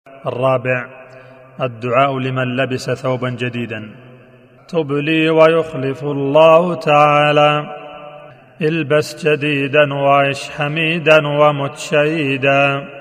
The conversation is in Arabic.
الرابع الدعاء لمن لبس ثوبا جديدا. تب لي ويخلف الله تعالى، البس جديدا وعش حميدا ومت شهيدا.